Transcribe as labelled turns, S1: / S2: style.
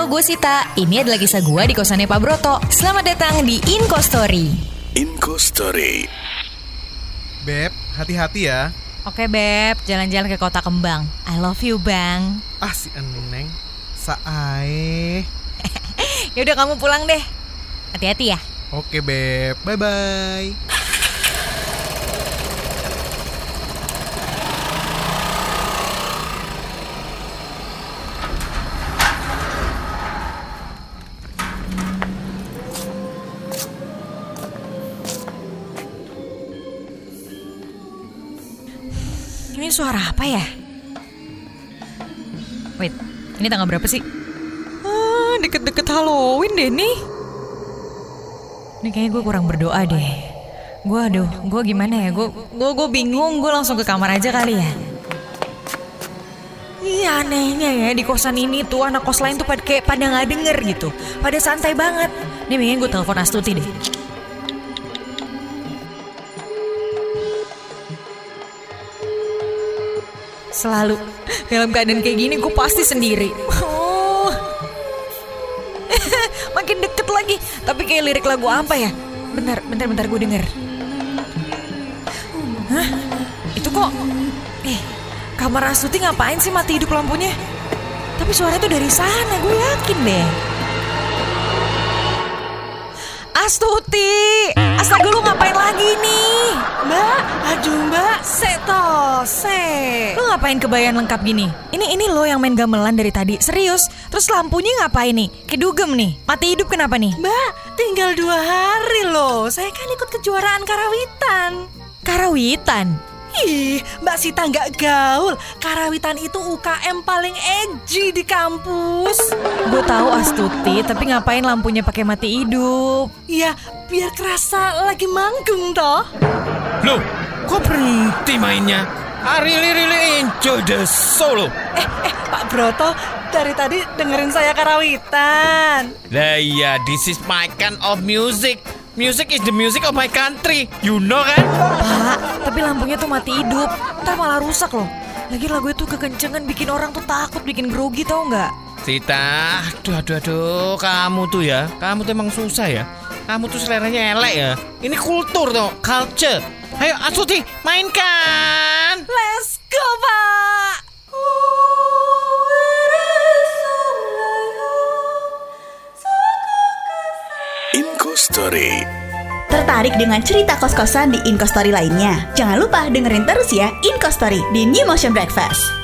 S1: gue Sita. Ini adalah kisah gue di kosannya Pak Broto. Selamat datang di Inko Story.
S2: Inko Story.
S3: Beb, hati-hati ya.
S1: Oke Beb, jalan-jalan ke Kota Kembang. I love you Bang.
S3: Ah si Eneng, Sae.
S1: Yaudah kamu pulang deh. Hati-hati ya.
S3: Oke Beb, bye-bye.
S1: Ini suara apa ya? Wait, ini tanggal berapa sih? Deket-deket Halloween deh nih. Ini kayaknya gue kurang berdoa deh. Gue gimana ya? Gue bingung, gue langsung ke kamar aja kali ya. Iya anehnya ya, di kosan ini tuh anak kos lain tuh kayak pada gak denger gitu. Pada santai banget. Nih mendingan gue telepon Astuti deh. Selalu dalam keadaan kayak gini gue pasti sendiri. Makin deket lagi. Tapi kayak lirik lagu apa ya? Bentar gue denger. Hah? Itu kok kamar Astuti ngapain sih mati hidup lampunya? Tapi suaranya tuh dari sana, gue yakin deh. Astuti, astaga lu ngapain lagi nih?
S4: Mbak, aduh mbak,
S1: Lu ngapain kebayaan lengkap gini? Ini lo yang main gamelan dari tadi, serius? Terus lampunya ngapain nih? Kedugem nih, mati hidup kenapa nih?
S4: Mbak, tinggal 2 hari loh. Saya kan ikut kejuaraan karawitan.
S1: Karawitan?
S4: Ih, Mbak Sita nggak gaul. Karawitan itu UKM paling edgy di kampus.
S1: Gue tahu Astuti, tapi ngapain lampunya pakai mati hidup?
S4: Ya, biar kerasa lagi manggung toh.
S5: Loh, kok berhenti mainnya? I really enjoy the solo.
S4: Pak Broto, dari tadi dengerin saya karawitan.
S5: Lah iya, this is my kind of music. Music is the music of my country. You know kan?
S1: Pak, tapi lampunya tuh mati hidup. Ntar malah rusak loh. Lagi lagu itu kekencengan bikin orang tuh takut, bikin grogi tau nggak?
S5: Sita, aduh, kamu tuh emang susah ya. Kamu tuh seleranya elek ya. Ini kultur tuh, culture. Ayo Astuti, mainkan.
S4: Let's go, Pak.
S2: Inko Story.
S6: Tertarik dengan cerita kos-kosan di Inko Story lainnya? Jangan lupa dengerin terus ya Inko Story di New Motion Breakfast.